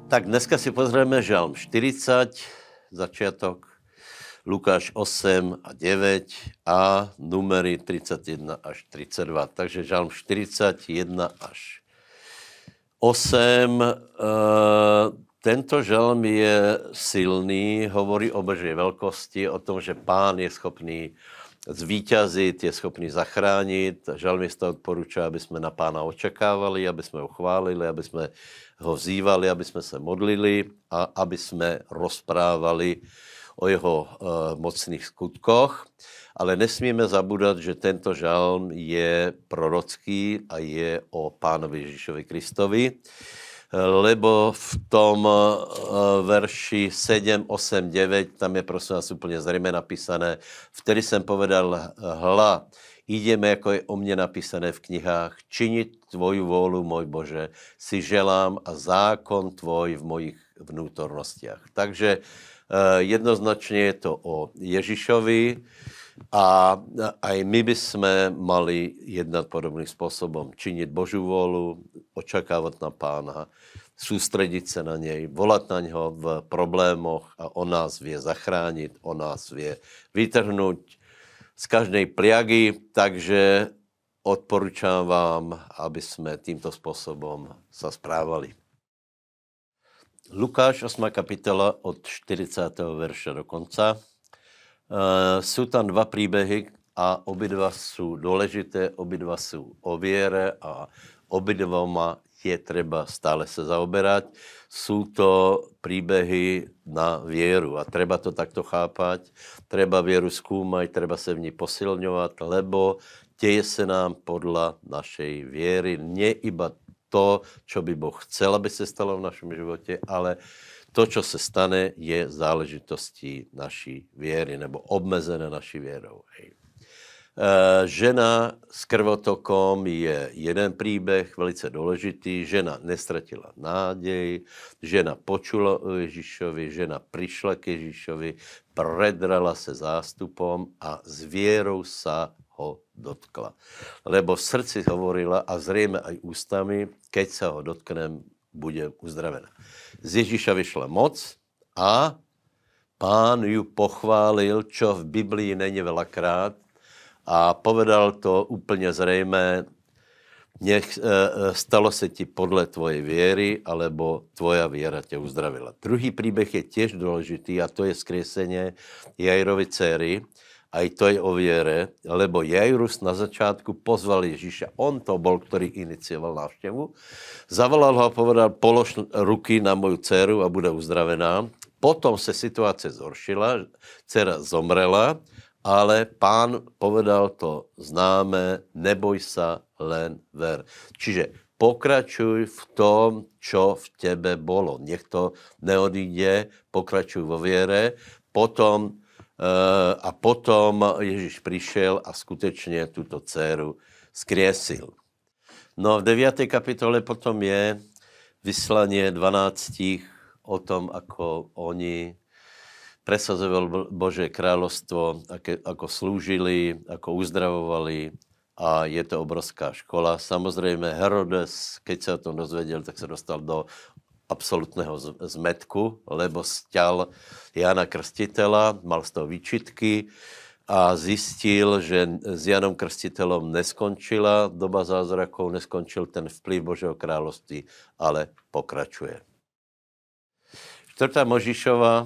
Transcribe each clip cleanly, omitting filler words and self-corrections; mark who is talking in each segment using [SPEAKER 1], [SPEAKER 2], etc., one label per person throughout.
[SPEAKER 1] Tak dneska si pozrieme Žalm 40, začiatok, Lukáš 8 a 9 a numery 31 až 32. Takže Žalm 41 až 8. Tento žalm je silný, hovorí o Božej veľkosti, o tom, že Pán je schopný zvíťazit, je schopný zachránit. Žalmista odporúča, aby sme na Pána očakávali, aby sme ho chválili, aby sme ho vzývali, aby sme sa modlili a aby sme rozprávali o jeho mocných skutkoch. Ale nesmieme zabúdať, že tento žalm je prorocký a je o Pánovi Ježišovi Kristovi, lebo v tom verši 7, 8, 9, tam je prosím vás úplne zrejme napísané, vtedy jsem povedal, hla, ideme, ako je o mne napísané v knihách, činiť tvoju vôľu, môj Bože, si želám a zákon tvoj v mojich vnútornostiach. Takže jednoznačne je to o Ježišovi a aj my by sme mali jednať podobným spôsobom. Činiť Božiu vôľu, očakávať na Pána, sústrediť sa na nej, volať na ňo v problémoch a on nás vie zachrániť, on nás vie vytrhnúť z každej pliagy, takže odporúčam vám, aby sme týmto spôsobom sa správali. Lukáš 8. kapitola od 40. verša do konca. Sú tam dva príbehy a obidva sú dôležité, obidva sú o viere a obidvoma je treba stále sa zaoberať. Sú to príbehy na vieru a treba to takto chápať. Treba vieru skúmať, treba sa v ní posilňovať, lebo deje sa nám podľa našej viery. Nie iba to, čo by Boh chcel, aby sa stalo v našom živote, ale to, čo sa stane, je záležitostí naší viery, nebo obmedzené naší vierou. Hej. Žena s krvotokom je jeden príbeh, velice dôležitý. Žena nestratila nádej, žena počula o Ježišovi, žena prišla k Ježišovi, predrala sa zástupom a s vierou sa ho dotkla. Lebo v srdci hovorila a zrejme aj ústami, keď sa ho dotknem, bude uzdravená. Z Ježiša vyšla moc a Pán ju pochválil, čo v Biblii není veľakrát, a povedal to úplne zrejme, nech stalo sa ti podľa tvojej viery, alebo tvoja viera ťa uzdravila. Druhý príbeh je tiež dôležitý a to je skriesenie Jairovej dcery. Aj to je o viere, lebo Jairus na začiatku pozval Ježiša. On to bol, ktorý inicioval návštevu. Zavolal ho a povedal, polož ruky na moju dceru a bude uzdravená. Potom sa situácia zhoršila, dcera zomrela, ale Pán povedal to známe, neboj sa, len ver. Čiže pokračuj v tom, čo v tebe bolo. Nech to neodíde, pokračuj vo viere. Potom Ježiš prišiel a skutečne túto dceru skriesil. No v 9. kapitole potom je vyslanie 12 o tom, ako oni presazoval Božie kráľovstvo, ako slúžili, ako uzdravovali a je to obrovská škola. Samozrejme Herodes, keď sa o tom dozvedel, tak sa dostal do absolútneho zmetku, lebo sťal Jana Krstiteľa, mal z toho výčitky a zistil, že s Janom Krstiteľom neskončila doba zázrakov, neskončil ten vplyv Božieho kráľovství, ale pokračuje. 4. Možišova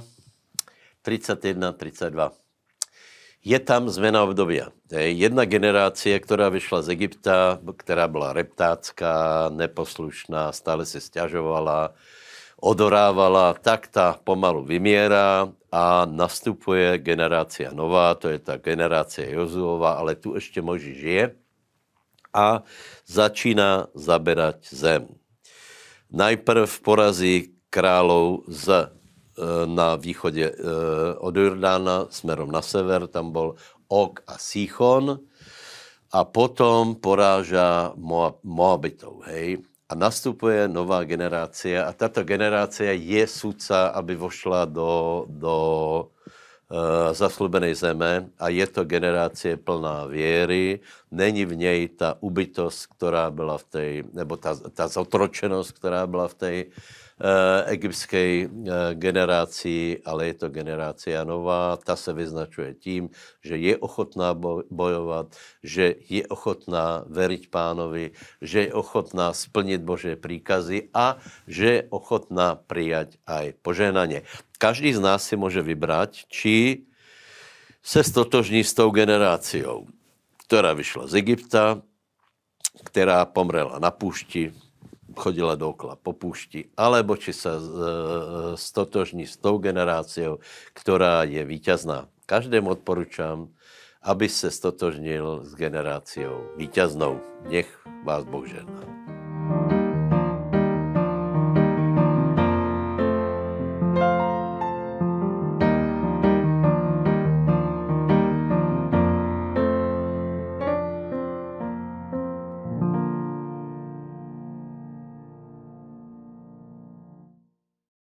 [SPEAKER 1] 31-32. Je tam zmena obdobia. Jedna generácia, ktorá vyšla z Egypta, ktorá bola reptácká, neposlušná, stále sa sťažovala, odorávala, tak tá pomalu vymiera a nastupuje generácia nová, to je tá generácia Jozuova, ale tu ešte Mojžiš žije a začína zaberať zem. Najprv porazí kráľov na východe od Jordána smerom na sever, tam bol Og a Síchon a potom poráža Moabitov, hej. A nastupuje nová generácia a táto generácia je sudca, aby vošla do zasľúbenej zeme a je to generácie plná viery. Není v nej ta ubytosť, ktorá byla v tej, nebo ta zotročenosť, ktorá byla v tej egyptskej generácii, ale je to generácia nová. Ta se vyznačuje tím, že je ochotná bojovat, že je ochotná veriť Pánovi, že je ochotná splniť Božie príkazy a že je ochotná prijať aj požehnanie. Každý z nás si môže vybrať, či se stotožní s tou generáciou, ktorá vyšla z Egypta, která pomrela na púšti, chodila dookola po púšti, alebo či sa stotožní s tou generáciou, ktorá je víťazná. Každému odporúčam, aby se stotožnil s generáciou víťaznou. Nech vás Boh žehná.